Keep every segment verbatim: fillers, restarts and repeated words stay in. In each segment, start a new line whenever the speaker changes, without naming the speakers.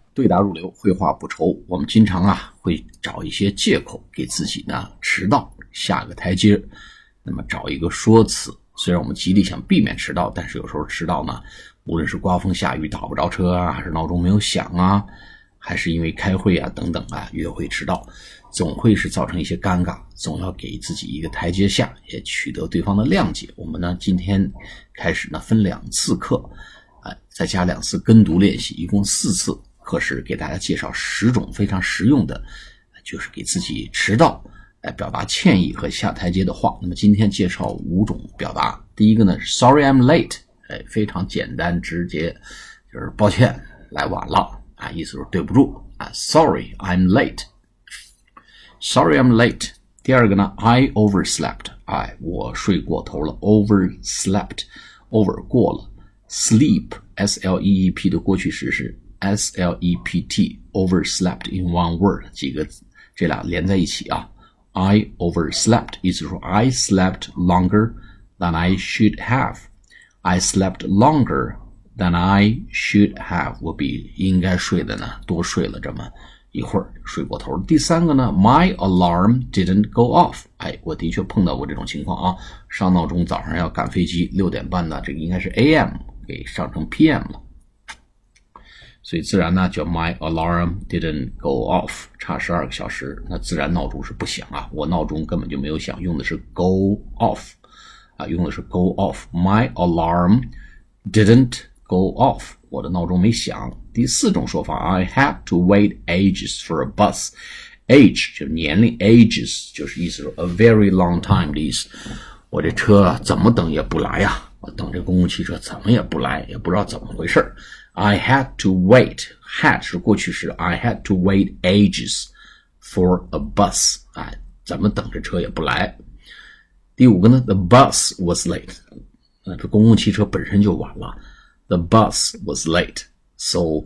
对答如流，绘画不愁。我们经常啊会找一些借口给自己呢迟到下个台阶，那么找一个说辞。虽然我们极力想避免迟到，但是有时候迟到呢，无论是刮风下雨打不着车啊，还是闹钟没有响啊，还是因为开会啊等等啊约会迟到，总会是造成一些尴尬，总要给自己一个台阶下，也取得对方的谅解。我们呢今天开始呢分两次课，呃，再加两次跟读练习，一共四次课时给大家介绍十种非常实用的，就是给自己迟到来表达歉意和下台阶的话。那么今天介绍五种表达。第一个呢是 Sorry I'm late， 哎，非常简单直接，就是抱歉来晚了啊，意思是对不住啊 Sorry I'm late Sorry I'm late。 第二个呢 I overslept， 哎，我睡过头了 overslept over 过了， sleep S L E E P 的过去时是 S L E P T overslept in one word， 几个这俩连在一起啊。I overslept 意思说 I slept longer than I should have， I slept longer than I should have， 我比应该睡的呢多睡了这么一会儿，睡过头。第三个呢 My alarm didn't go off， 哎，我的确碰到过这种情况啊，上闹钟早上要赶飞机，六点半呢，这个应该是 A M 给上成 P M 了，所以自然呢叫 My alarm didn't go off， 差十二个小时，那自然闹钟是不响啊，我闹钟根本就没有响，用的是 go off 啊，用的是 go off。 My alarm didn't go off， 我的闹钟没响。第四种说法 I had to wait ages for a bus， age 就是年龄， ages 就是意思说 a very long time 的意思，我这车啊怎么等也不来啊，我等这公共汽车怎么也不来，也不知道怎么回事。I had to wait， had 是过去时 I had to wait ages for a bus， 哎，怎么等这车也不来。第五个呢 The bus was late， 呃，这公共汽车本身就晚了， The bus was late so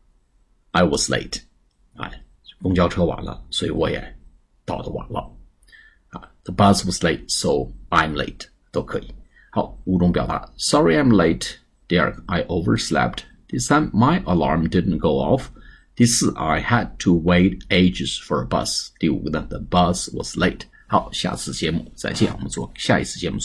I was late， 哎，公交车晚了，所以我也到的晚了啊。The bus was late so I'm late 都可以。好，五种表达 Sorry I'm late， 第二个 I overslept，第三 My alarm didn't go off， 第四 I had to wait ages for a bus， 第五个呢 The bus was late。 好，下次节目再见，我们做下一次节目。